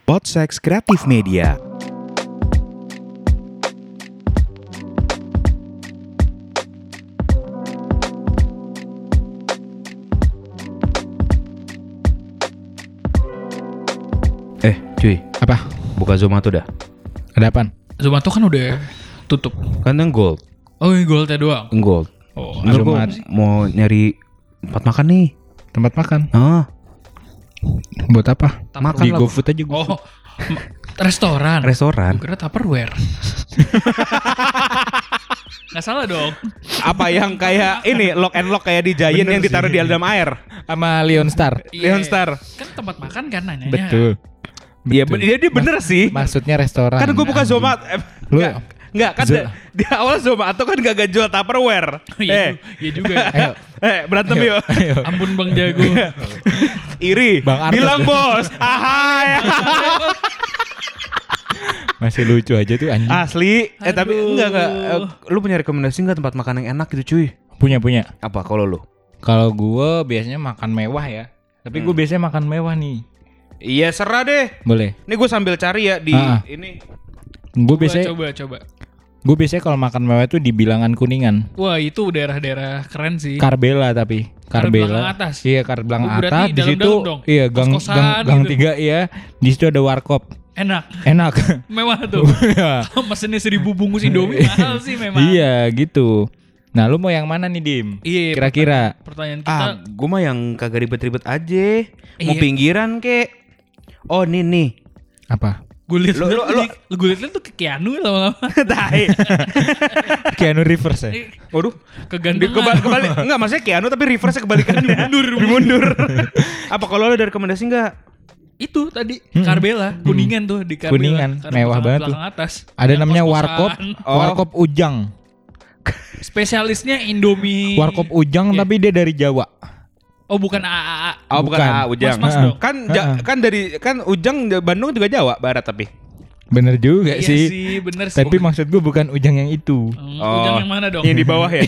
Podsex Kreatif Media. Cuy, Apa? buka Zomato dah. Ada apaan? Zomato kan udah tutup. Kan yang gold. Oh, Goldnya doang. Gold. Oh, Ntar gue Zomato. mau nyari tempat makan nih. Tempat makan. Makan Buat apa? Di lah. GoFood aja. Oh, restoran. Restoran. Gue kira Tupperware. Nggak salah dong. Apa yang kayak ini lock and lock kayak di Giant yang ditaruh di dalam air? Sama Leon Star. Leon Star. Kan tempat makan kan nanyanya. Betul. Iya, dia bener sih. Maksudnya restoran. Kan gue buka Zomato. Lu- Enggak kan di awal Zomato kan gak jual Tupperware. Iya juga ya. Ayo. Berantem yuk. Ayo. Ampun Bang Jago. Iri. Bang Artes. Bilang bos. Ahai. Masih lucu aja tuh anjing. Asli. Tapi Aduh. enggak. Lu punya rekomendasi enggak tempat makan yang enak gitu cuy? Punya. Apa kalau lu? Kalau gue biasanya makan mewah ya. Tapi gue biasanya makan mewah nih. Iya serah deh. Boleh. Ini gue sambil cari ya di ini. Gue biasanya Coba. gue biasanya kalau makan mewah itu di Bilangan Kuningan. Wah, itu daerah-daerah keren sih. Karbela tapi Belakang atas. Iya, belakang Oh, berarti atas. Di situ dalam-dalam dong? iya gang Kos-kosan gitu. 3 iya. Di situ ada warkop. Enak. Enak. Mewah tuh. Iya. Mesennya 1000 bungkus Indomie mahal sih memang. Iya, gitu. Nah, lu mau yang mana nih, Dim? Iya, Kira-kira. Pertanyaan kita Gue mah yang kagak ribet-ribet aja. Mau Iya. pinggiran kek. Oh nih. Apa? gue liat Lu- gue liat tuh ke Keanu lama-lama. Tai. Keanu Reeves ya? Waduh. Kegantengan. Kebalik. Enggak, maksudnya Keanu tapi reverse kebalikannya. Mundur. Apa kalau lu ada rekomendasi enggak? Itu tadi Karbela, Kuningan tuh di Karbela. Kuningan, Karena mewah belakang- banget tuh. belakang atas. Ada Yang namanya kos-kosan. Warkop. Oh. Warkop Ujang. Spesialisnya Indomie. Warkop Ujang Iya. tapi dia dari Jawa. Oh, bukan AAA. Oh, bukan Bukan. Ujang. Mas dong. Kan Ujang Bandung juga Jawa Barat tapi. Bener juga Iya sih. sih, bener sih. Tapi maksud gue bukan Ujang yang itu. Ujang yang mana dong? Yang di bawah ya.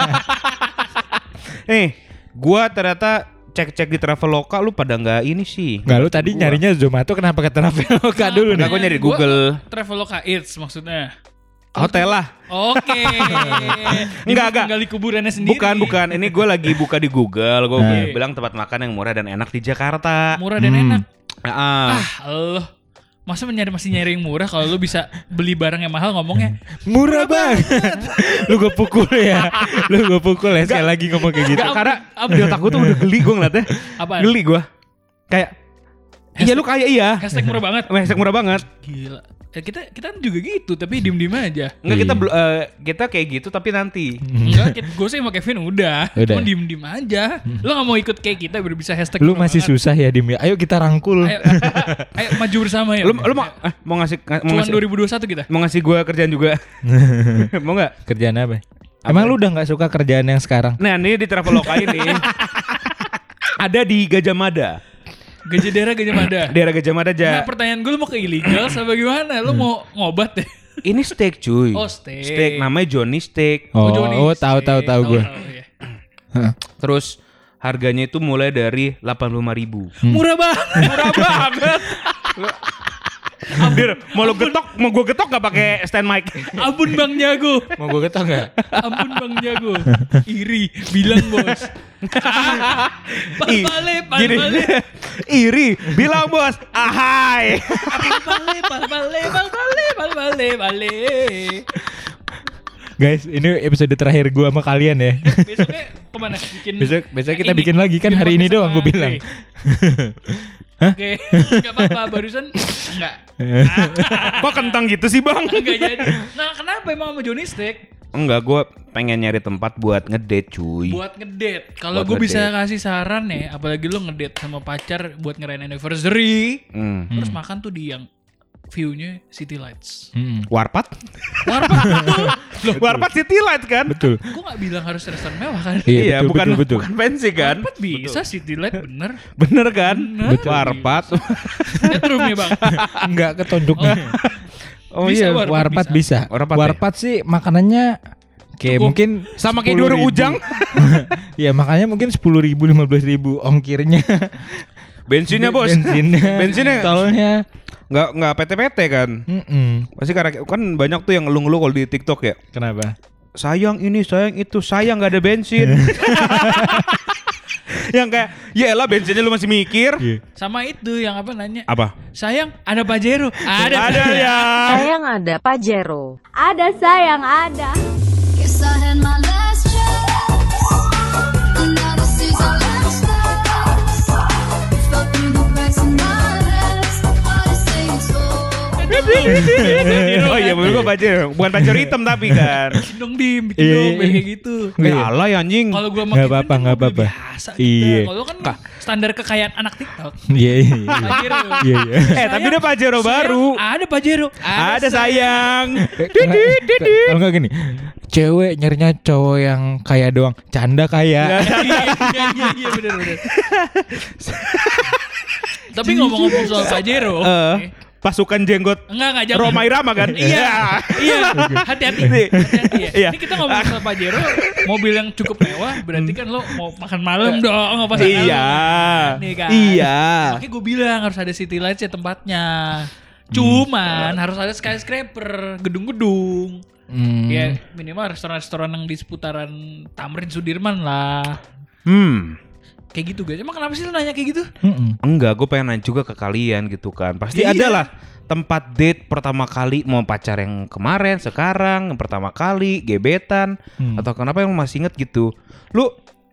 Gua ternyata cek-cek di Traveloka lu pada nggak ini sih. Nggak, lu tadi nyarinya Zomato kenapa ke Traveloka dulu nih? Aku nyari di Google. Traveloka Eats maksudnya. Hotel lah. Oke. Enggak. Gali kuburannya sendiri. Bukan. Ini gue lagi buka di Google. Gue Nah. bilang tempat makan yang murah dan enak di Jakarta. Murah dan enak. Ah. Allah. Masa masih nyari yang murah kalau lu bisa beli barang yang mahal ngomongnya Murah banget. Lu gue pukul ya. Sekali lagi ngomong kayak gitu. Enggak, karena di otak gue tuh udah geli gue ngeliatnya. Apaan? Geli gue. Kayak iya lu kayak iya. Hashtag murah banget. Hashtag murah banget. Gila. Kita juga gitu tapi diem aja. Enggak Iya. kita kayak gitu tapi nanti. Enggak, gue sih sama Kevin udah. Udah. Cuma diem aja. Lu gak mau ikut kayak kita biar bisa hashtag Lu murah masih banget. susah ya Dim ya. Ayo kita rangkul. Ayo maju bersama ya. Lu mau ngasih Cuman 2021 kita. mau ngasih gue kerjaan juga. Mau nggak? Kerjaan apa? Emang lu udah nggak suka kerjaan yang sekarang? Nah ini di Traveloka ini ada di Gajah Mada. Daerah Gajah Mada. Daerah Gajah Mada Nah, pertanyaan gue lu mau ke illegal sama gimana? Lu mau ngobat deh. Ini steak cuy. Oh, steak. Steak namanya Johnny Steak. Johnny tahu Steak. gue. Ya. Terus harganya itu mulai dari 85.000. Murah banget. Murah banget. Dir, mau gue getok gak pakai stand mic? Ampun Bang Jago. Mau gue ketok nggak? Ampun Bang Jago. Iri, bilang bos. Ih, Pal-pale. gini. Iri, bilang bos, ahai. Pal-pale. Guys, ini episode terakhir gue sama kalian ya. Besoknya kemana? Besok kita bikin lagi kan hari ini doang gue bilang. Oke, nggak apa-apa. Barusan enggak. Kok kentang gitu sih bang? Enggak jadi. Nah, kenapa emang sama Johnny Steak? Enggak, gue pengen nyari tempat buat ngedate cuy. Buat ngedate. Kalau Buat gue bisa ngedate. kasih saran ya, apalagi lu ngedate sama pacar buat ngerayain anniversary, terus makan tuh di yang view-nya City Lights. Warpat? Warpat betul. Loh, Warpat City Light kan? Betul. Gue gak bilang harus restoran mewah kan? Iya, betul, betul. bukan fancy kan? Warpat bisa City Light bener. Bener kan? Bener. Warpat. Setrum ya bang. Enggak ketonjoknya. Oh Bisa, iya, Warpat Warpat bisa. Warpat ya? sih makanannya kayak Cukup. mungkin sama kayak di warung 10.000. Ujang. Iya, makanya mungkin 10.000 15.000 ongkirnya. Bensinnya bos. Bensinnya. Bensinnya. Tolnya. nggak PT-PT kan. Pasti karena kan banyak tuh yang ngeluh-ngeluh kalau di TikTok ya. Kenapa? Sayang ini, sayang itu, sayang nggak ada bensin. Yang kayak, ya elah bensinnya lu masih mikir. Sama itu yang apa nanya? Apa? Sayang, ada Pajero. Ada ya. Sayang ada Pajero. Ada sayang ada. Guess I had my last chance, and now this is our last dance. Fell through the cracks in my hands. Hard to say it's over. Oh iya, menurut gua Pajero. Bukan Pajero hitam tapi kan. Bikin dong biar kayak gitu. Ya Allah ya anjing. Kalau gua Nggak apa-apa, nggak apa-apa. Biasa Iya. kita. Kalau kan standar kekayaan anak TikTok. Iya. Pajero. Iya. Tapi ada Pajero baru. Ada Pajero. Ada sayang. Kalau nggak gini, cewek nyarinya cowok yang kaya doang, canda kaya. Iya benar. Tapi ngomong-ngomong soal Pajero, Pasukan jenggot enggak jangan. Roma Irama kan? Iya. Hati-hati ya. Iya. Ini kita ngomong soal Pajero, mobil yang cukup mewah, berarti kan lo mau makan malam dong, nggak pas Iya. nih kan. Iya. Makanya gue bilang harus ada city lights ya tempatnya. Cuman harus ada skyscraper, gedung-gedung. Ya minimal restoran-restoran yang di seputaran Tamrin Sudirman lah. Kayak gitu guys. Emang kenapa sih lu nanya kayak gitu? Enggak, gue pengen nanya juga ke kalian gitu kan. Pasti ada lah tempat date pertama kali, mau pacar yang kemarin, sekarang, yang pertama kali, gebetan, atau kenapa yang masih inget gitu. Lu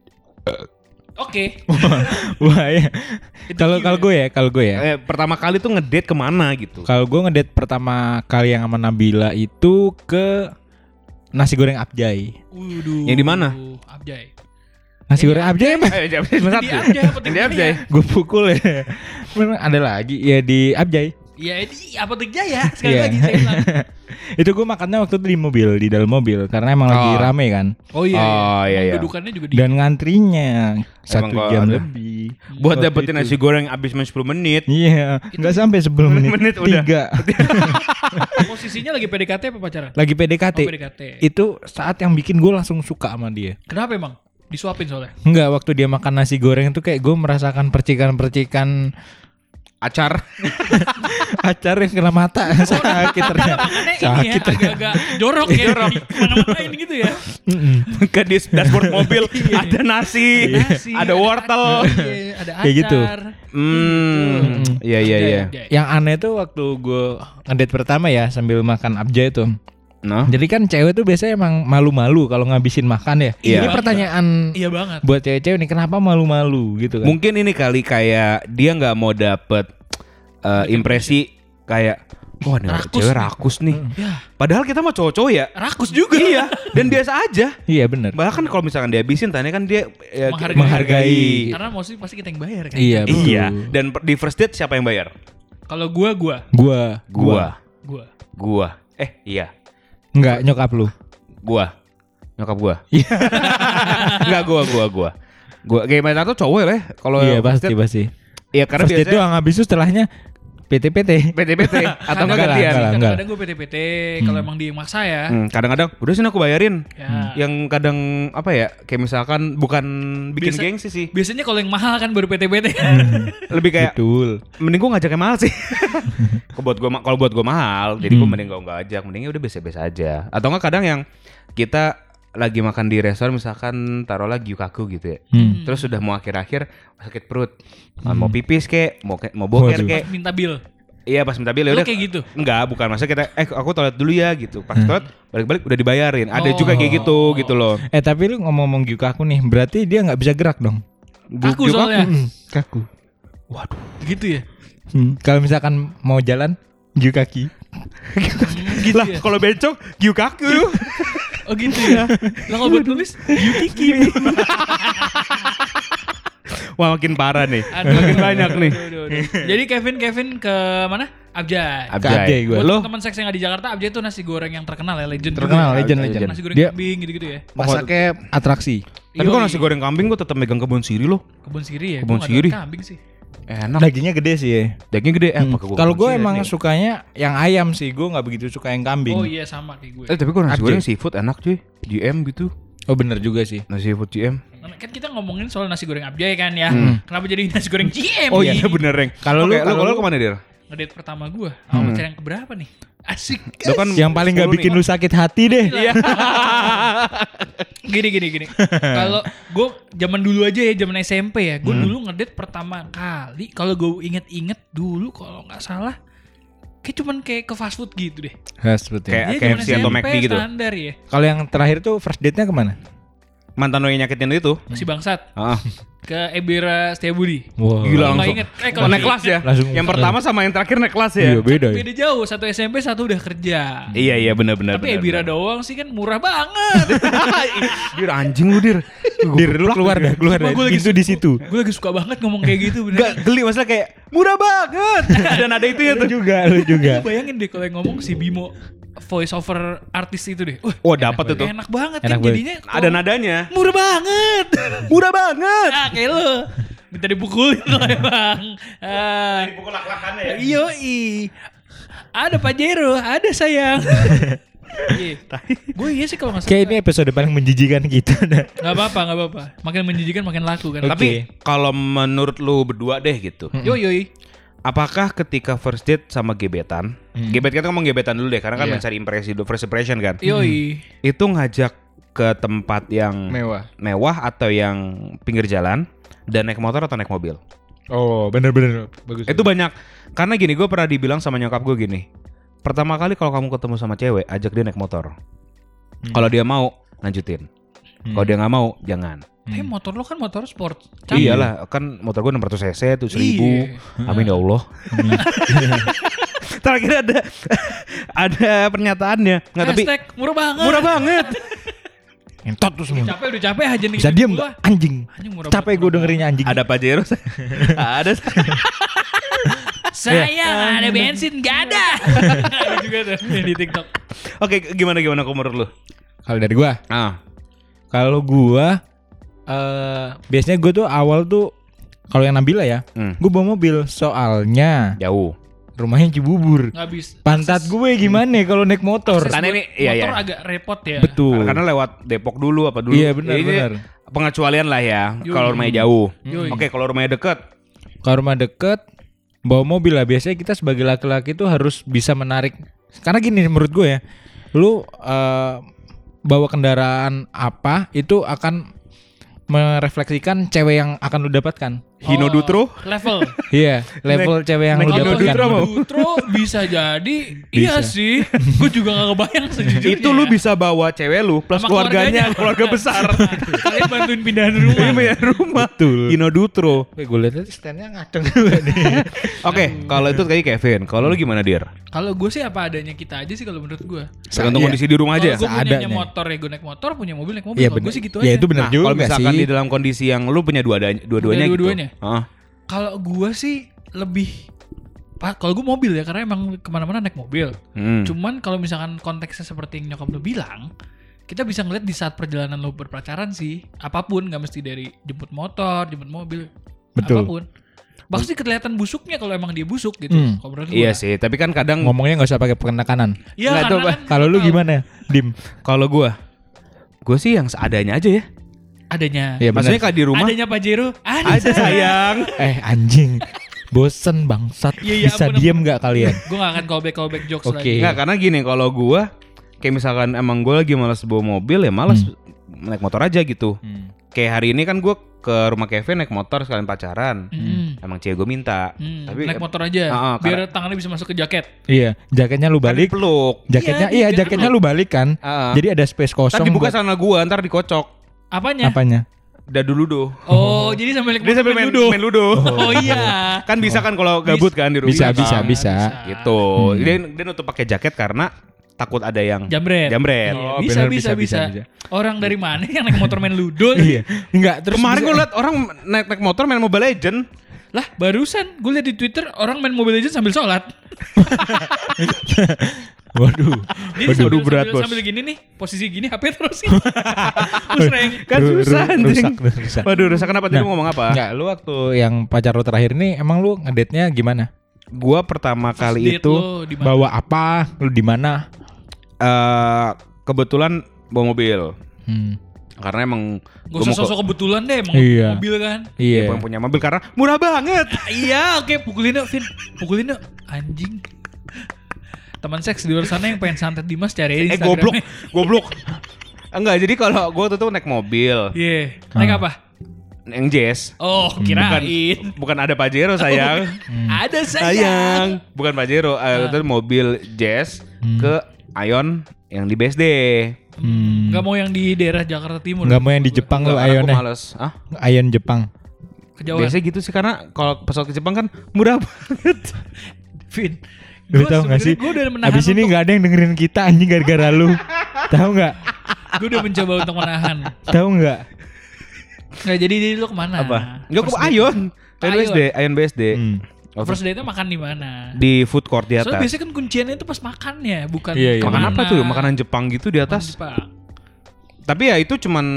Oke. Wah ya. Kalau gue ya. pertama kali tuh ngedate kemana gitu? Kalau gue ngedate pertama kali yang sama Nabila itu ke nasi goreng Abjay. Yang di mana? Abjay. Nasi goreng Abjay apa? Di Abjay apa Di Abjay. Gue pukul ya. Memang ada lagi ya di Abjay. Ya ini Apotek Jaya sekali Iya. lagi saya bilang. Itu gue makannya waktu itu di dalam mobil karena emang lagi rame kan. Oh iya. iya. Dudukannya juga di. Dan ngantrinya 1 Emang jam ada. lebih. Buat Waktu dapetin itu. nasi goreng abis main 10 menit. Iya, nggak sampai 10 menit. menit udah. 3. Posisinya lagi PDKT apa pacaran? Lagi PDKT. Oh, PDKT. Itu saat yang bikin gue langsung suka sama dia. Kenapa emang? Disuapin soalnya. Enggak, waktu dia makan nasi goreng itu kayak gue merasakan percikan-percikan Acar. acar yang kena mata. Sakit ternyata. Makanya ini Sakit ya agak-agak jorok ya. Mana-manain gitu ya. Ke di dashboard mobil ada nasi, ada wortel. Iya, ada acar. Kayak gitu. Iya. Abjay. Yang aneh tuh waktu gue ngedate pertama ya sambil makan Abjay itu. Nah, Jadi kan cewek tuh biasanya emang malu-malu kalau ngabisin makan ya. Iya. Ini pertanyaan Iya banget. buat cewek-cewek nih, kenapa malu-malu gitu kan? mungkin ini kali kayak dia nggak mau dapet impresi kayak wah nih Rakus cewek nih. rakus nih. Ya, Padahal kita mah cowok-cowok ya. rakus juga. Iya, dan biasa aja. Iya bener. Bahkan kalau misalkan dihabisin tanya kan dia Menghargai. Karena mostly pasti kita yang bayar kan. Iya betul. Iya. Dan di first date siapa yang bayar? Kalau gua Gua. Iya. Enggak, nyokap lu. Nyokap gua. Iya. Enggak gua. Gimana tuh cowok ya? Kalau Iya first date- pasti. Iya karena First date biasanya doang, habis itu setelahnya PT-PT. PT atau enggak Enggak lah, gantian. enggak lah. Kadang-kadang gue PT-PT kalau emang dia yang maksa ya. Kadang-kadang udah sini aku bayarin. Ya. Yang kadang apa ya? Kayak misalkan bukan bikin Biasa- gengsi sih. Biasanya kalau yang mahal kan baru PT-PT. Lebih kayak Betul. mending gua ngajak yang mahal sih. Kalau buat gua mahal, jadi gua mending gua enggak ajak, mendingnya udah biasa-biasa aja. Atau enggak kadang yang kita lagi makan di restoran misalkan taruhlah gyukaku gitu ya. Terus sudah mau akhir-akhir sakit perut. Mau pipis kek, mau boker Waduh. kek. Minta bill. Iya pas minta bill ya Lo udah. kayak gitu? Enggak, bukan maksudnya kita aku toilet dulu ya gitu. Pas toilet balik-balik udah dibayarin. Ada juga kayak gitu loh. Tapi lu ngomong-ngomong Gyukaku nih, berarti dia nggak bisa gerak dong. Kaku soalnya. Kaku. Waduh. Gitu ya? Kalau misalkan mau jalan, Gyukaki. Gitu Lah ya? kalau bencong gyukaku. Oh gitu ya? Lah kalau buat nulis, Yukiki. Wah makin parah nih. Aduh, Makin banyak nih. aduh. Jadi Kevin ke mana? Abjay. Abjay gua. Buat Lo teman seks yang ada di Jakarta, Abjay itu nasi goreng yang terkenal ya, legend. Terkenal, juga ya. legend. Nasi goreng Dia kambing gitu-gitu ya. masaknya atraksi. tapi kalau nasi goreng kambing gua tetap megang kebun siri loh. Kebun siri ya. Kebun Gua nggak tahu siri. Kambing sih. Enak. Dagingnya gede sih ya. Dagingnya gede. Kalau gue emang sukanya yang ayam sih, gue nggak begitu suka yang kambing. Oh iya sama kayak gue. tapi kalau nasi Abjay. goreng seafood enak cuy. GM gitu. Oh bener juga sih. Nasi seafood GM. Kan kita ngomongin soal nasi goreng Abjay kan ya. Kenapa jadi nasi goreng GM? Oh iya bener Reng. Kalau Oke, lu kalau lu kemana Dir? ngedate pertama gue sama pacar yang keberapa nih? Asik. Itu kan Yang paling gak 10 bikin nih. lu sakit hati deh. Iya. Gini. Kalau gue zaman dulu aja ya, zaman SMP ya, gue dulu ngedate pertama kali. Kalau gue inget-inget dulu, kalau nggak salah, kayak cuman kayak ke fast food gitu deh. Kayak Iya, zaman KFC atau SMP McD gitu. Standar ya. Kalau yang terakhir tuh first date-nya kemana? Mantan lo yang nyakitin lu itu. Si bangsat Heeh. ke Ebira Setiabudi. Wah. Gila Kalau nggak langsung. inget, Oh, kalau naik kelas ya. Langsung- Yang pertama sama yang terakhir naik kelas ya. Iya beda ya. Beda jauh, satu SMP, satu udah kerja. Iya benar. Tapi Ebira doang sih kan murah banget. Dir anjing lu dir. Dir lu keluar dah, keluar dah. Sumpah, gua lagi Itu di situ. Gue lagi suka banget ngomong kayak gitu bener. Gak geli masalah kayak murah banget. Dan ada itu ya Lu tuh. juga, lu juga. Lu bayangin deh kalau yang ngomong si Bimo voice over artis itu deh. Oh dapat itu. Enak banget Enak kan banget. jadinya. Ada nadanya. Murah banget. Murah banget. Ah kayak lu. Minta dipukulin lo emang. Pukul lak-lakannya ya. Yoi. Ada Pajero, ada sayang. Gue iya sih kalau nggak Kayak salah. ini episode paling menjijikan kita dah. Nggak apa-apa. Makin menjijikan makin laku kan. Tapi kalau menurut lu berdua deh gitu. Yoi. Apakah ketika first date sama gebetan, gebet kita ngomong gebetan dulu deh karena kan Iya. mencari impresi dulu, first impression kan. Yoi. Itu ngajak ke tempat yang mewah atau yang pinggir jalan dan naik motor atau naik mobil. Oh, bener-bener bagus. Itu banyak. Karena gini, gue pernah dibilang sama nyokap gue gini. Pertama kali kalau kamu ketemu sama cewek, ajak dia naik motor. Kalau dia mau, lanjutin. Kalau dia nggak mau, jangan. Tapi motor lo kan motor sport. Iyalah, kan motor gue 600 cc tuh 1000. Amin ya Allah. Terakhir ada pernyataannya. Nggak tapi Hashtag murah banget. murah banget. Entot tuh semua. Udah capek aja nih. Bisa diem gak? Anjing. Anjing murah Capek banget, gue murah dengerinnya anjing. Ada Pajero. Ada. Sayang ada bensin gak ada. Ada juga tuh yang di TikTok. Oke, gimana kalau menurut lu? Kalau dari gua, kalau gua biasanya gua tuh awal tuh kalau yang Nabila ya, gua bawa mobil soalnya Jauh. rumahnya Cibubur. Nggak bisa. Pantat gue gimana kalau naik motor? Akses Karena buat ini iya, motor iya. agak repot ya. Betul. Karena lewat Depok dulu apa dulu? Iya, benar, Ini benar. Pengecualian lah ya. Yoi. Kalau rumahnya jauh. Yoi. Oke, kalau rumahnya dekat. Kalau rumah deket bawa mobil lah, biasanya kita sebagai laki-laki tuh harus bisa menarik. Karena gini menurut gue ya, lu bawa kendaraan apa itu akan merefleksikan cewek yang akan lu dapatkan. Hino Dutro. Level. Iya, level cewek yang lu Hino dapatkan. Dutro mau. Dutro bisa jadi. Iya sih. Gue juga gak kebayang sejujurnya. Itu lu bisa bawa cewek lu plus Sama keluarganya, keluarganya. keluarga besar. Kalian bantuin pindahan rumah. Ini ya rumah. Betul. Hino Dutro. Gue lihat tadi stand-nya ngaceng juga nih. Oke, kalau itu kayak Kevin. Kalau lu gimana, Dir? Kalau gue sih apa adanya kita aja sih kalau menurut gue. Tergantung Iya. kondisi di rumah aja. Kalau gue punya seadanya. motor ya gue naik motor, punya mobil naik mobil. Iya Kalau benar. gue sih gitu Ya aja. itu benar Nah, juga kalau misalkan sih. di dalam kondisi yang lu punya dua-duanya gitu. Dua-duanya? Heeh. Kalau gue sih lebih kalau gue mobil ya karena emang kemana-mana naik mobil. Cuman kalau misalkan konteksnya seperti yang nyokap lu bilang, kita bisa ngeliat di saat perjalanan lu berpacaran sih, apapun nggak mesti dari jemput motor, jemput mobil, Betul. apapun. Pasti kelihatan busuknya kalau emang dia busuk gitu. Kalau menurut Iya gua. sih, tapi kan kadang Ngomongnya nggak usah pakai penekanan. Iya Nggak, karena coba. kan Kalau lu gimana, Dim? kalau gue sih yang seadanya aja ya. adanya. Iya Maksudnya benar. kayak di rumah Adanya Pajero, ada sayang. Anjing. Bosen bangsat. Iya, iya, Bisa ampun, diem nggak kalian? Gue gak akan callback jokes Oke. lagi. Enggak, karena gini, kalau gue kayak misalkan emang gue lagi malas bawa mobil ya malas naik motor aja gitu. Kayak hari ini kan gue ke rumah Kevin naik motor sekalian pacaran. Emang cewek gue minta. Tapi Naik motor aja, biar tangannya bisa masuk ke jaket. Iya, jaketnya lu kan balik. peluk. Jaketnya Iya, jaketnya lu balik kan. Jadi ada space kosong. Ntar dibuka buat- sana gue, ntar dikocok. Apanya? apanya? Udah dulu doh. Oh, jadi sambil Dia sambil main ludo. Oh iya. Kan bisa kan kalau gabut kan di rumah. Bisa. Gitu. Dia nutup pakai jaket karena takut ada yang Jambret. Jambret. Iya, Oh, bisa, bener, bisa, bisa. Orang dari mana yang naik motor main ludo? Iya. Enggak, terus Kemarin bisa- gue liat orang naik motor main Mobile Legend. Lah, barusan gue liat di Twitter orang main Mobile Legends sambil sholat. Waduh. Jadi Waduh, berat, Bos. sambil gini nih, posisi gini HP terusin. Pusreng. Kan susah anjing. rusak. Waduh, rusak kenapa? Tadi Nah, lu ngomong apa? Enggak, lu waktu yang pacar lu terakhir nih emang lu ngedate-nya gimana? Gua pertama kali Date itu lo di mana? Bawa apa? Lu di mana? kebetulan bawa mobil. Karena emang Gak usah sosok kebetulan deh emang Iya. mobil kan. Iya. yang punya mobil karena murah banget. Iya, oke, pukulin yuk, Vin. Pukulin yuk, anjing. Teman seks di luar sana yang pengen santet Dimas cari Instagramnya. Goblok. Enggak, jadi kalau gue tuh naik mobil, Iya, naik apa? yang jazz. Oh, kirain. Bukan ada Pajero sayang. Ada sayang. Bukan Pajero, itu mobil jazz ke Ion yang di BSD. Gak mau yang di daerah Jakarta Timur. Enggak mau yang di Jepang lu Enggak, karena aku Ayonnya. males. Ah, Ayon Jepang. Kejauhan. biasanya gitu sih karena kalau pesawat ke Jepang kan murah banget. Vin. Lu tahu gak sih? Gue udah menahan. Abis ini nggak ada yang dengerin kita anjing gara-gara lu. Tahu nggak? Gue udah mencoba untuk menahan. Tahu nggak? Nggak, jadi lu kemana? Apa? Enggak ke Ion. Ion BSD. First date-nya makan di mana? Di food court di Soalnya atas. biasanya kan kunciannya itu pas makannya, bukan Iya, iya. Makan kemana. apa tuh? Makanan Jepang gitu di atas. Jepang. Tapi ya itu cuman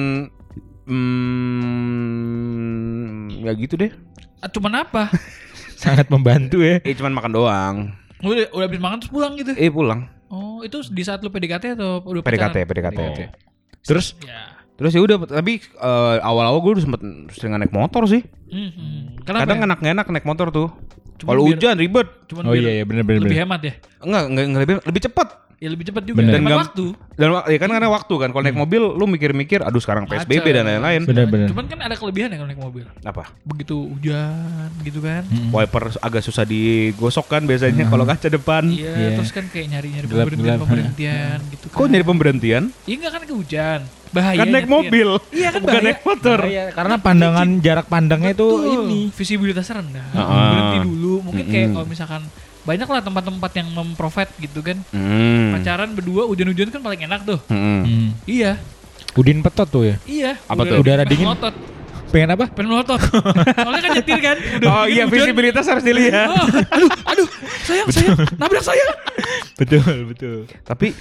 ya gitu deh. Ah, cuman apa? Sangat membantu ya. Cuman makan doang. Udah habis makan terus pulang gitu. Pulang. Oh, itu di saat lu PDKT atau udah PDKT, pacaran? PDKT. Oh. Terus Ya. Terus ya udah, tapi awal-awal gue udah sempet sering naik motor sih. Kenapa? Kadang ya? enak naik motor tuh. Cuman Kalau biar- hujan ribet. Cuman oh biar iya benar-benar. lebih hemat ya. Enggak lebih cepat. Ya lebih cepat juga. Bener. Hemat Dan waktu. Dan ya kan karena waktu kan. Kalau naik mobil lu mikir-mikir, aduh sekarang PSBB Macet. dan lain-lain. Benar-benar. Cuman kan ada kelebihan ya kalau naik mobil. Apa? Begitu hujan gitu kan. Wiper agak susah digosok kan biasanya kalau kaca depan. Iya, Iya. terus kan kayak nyari-nyari Gelap-gelap. pemberhentian gitu kan. Kok nyari pemberhentian? Iya enggak kan ke hujan. Bahaya. Kan naik mobil. Iya kan bukan bahaya. naik motor. Karena pandangan jarak pandangnya itu ini. Visibilitasnya rendah. Heeh. Berhenti dulu. Mungkin kayak kalau misalkan banyak lah tempat-tempat yang memprovide gitu kan. Pacaran berdua hujan-hujan kan paling enak tuh. Iya. Udin petot tuh ya. Iya. Apa Udah tuh? Udara pengen dingin. melotot. Pengen apa? Pengen melotot. Soalnya kan nyetir kan. Udah Oh dingin, iya, hujan. visibilitas harus dilihat. Oh, aduh, sayang, nabrak saya. Betul. Tapi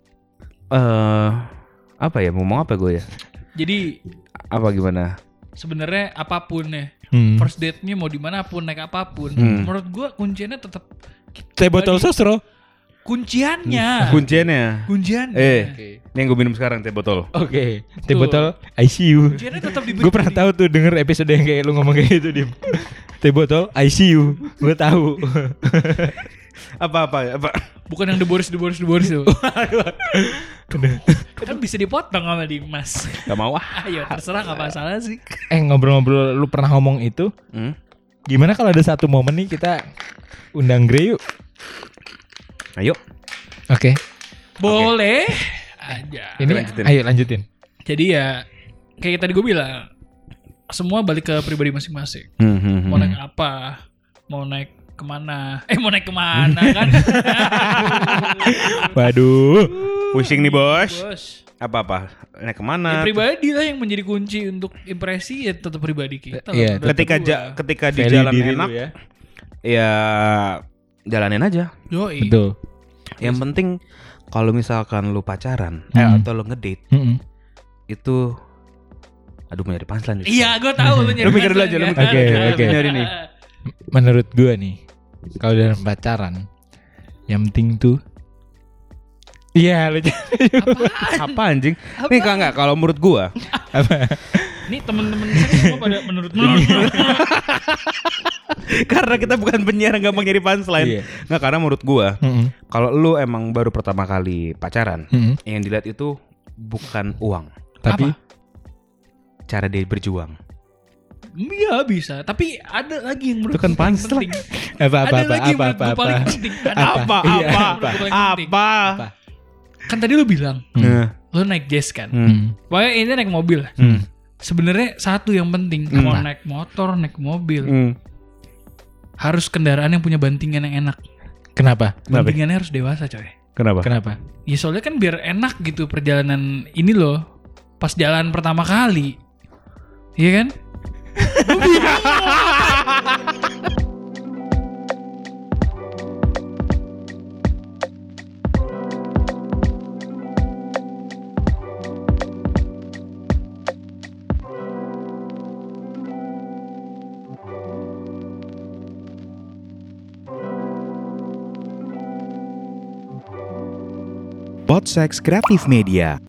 apa ya, ngomong apa gue ya? Jadi Apa gimana? sebenarnya apapun ya, first date-nya mau dimanapun naik apapun, menurut gua kunciannya tetap Teh botol sosro. kunciannya. Kunciannya. Kunciannya. Ini yang gue minum sekarang teh botol. Oke. Teh botol ICU. Kunciannya tetap diberi. Gue pernah tahu tuh denger episode yang kayak lu ngomong kayak gitu Dim. Teh botol ICU. Gue tahu. Apa? Bukan yang The Boris tuh. Kan bisa dipotong sama Dimas. Gak mau ah. Ayo terserah nggak masalah sih. Ngobrol-ngobrol lu pernah ngomong itu. Gimana kalau ada satu momen nih kita undang Grey yuk. Ayo. Oke. Boleh aja. Ini Lanjutin. ayo lanjutin. Jadi ya kayak tadi gue bilang, semua balik ke pribadi masing-masing. Mau naik apa? Mau naik kemana? Mau naik kemana kan? Waduh. Pusing nih bos. Bos. Apa? Naik Ya, kemana? pribadi lah yang menjadi kunci untuk impresi ya tetap pribadi kita. Iya, lah. ketika di Value jalan diri enak, lu ya. ya jalanin aja. Yoi. Betul. Yang penting kalau misalkan lu pacaran atau lu ngedate itu, aduh mau nyari punchline. Iya, gue tahu lu nyari. Lu mikir dulu aja, lu mikir dulu aja. Oke. Nyari nih. Menurut gue nih, kalau dalam pacaran, yang penting tuh, iya lu Apa anjing? Nih enggak kalau menurut gua. Nih temen-temen saya semua pada menurut. Karena kita bukan penyiar yang gampang nyari punchline. Iya. Nggak, karena menurut gua kalau lu emang baru pertama kali pacaran, yang dilihat itu bukan uang, tapi cara dia berjuang. Iya bisa, tapi ada lagi yang menurut Itu kan gue paling punchline. penting. apa Ada lagi yang menurut gue apa paling penting. Ada Apa? Iya, Apa? menurut gue paling penting. Apa? Kan tadi lu bilang, Nah. lu naik jazz kan. Hmm. Pokoknya ini naik mobil. Sebenarnya satu yang penting, mau naik motor, naik mobil, harus kendaraan yang punya bantingan yang enak. Kenapa? Bantingannya harus dewasa, coy. Kenapa? Ya soalnya kan biar enak gitu perjalanan ini loh. Pas jalan pertama kali. Iya kan? Podsex Kreatif Media.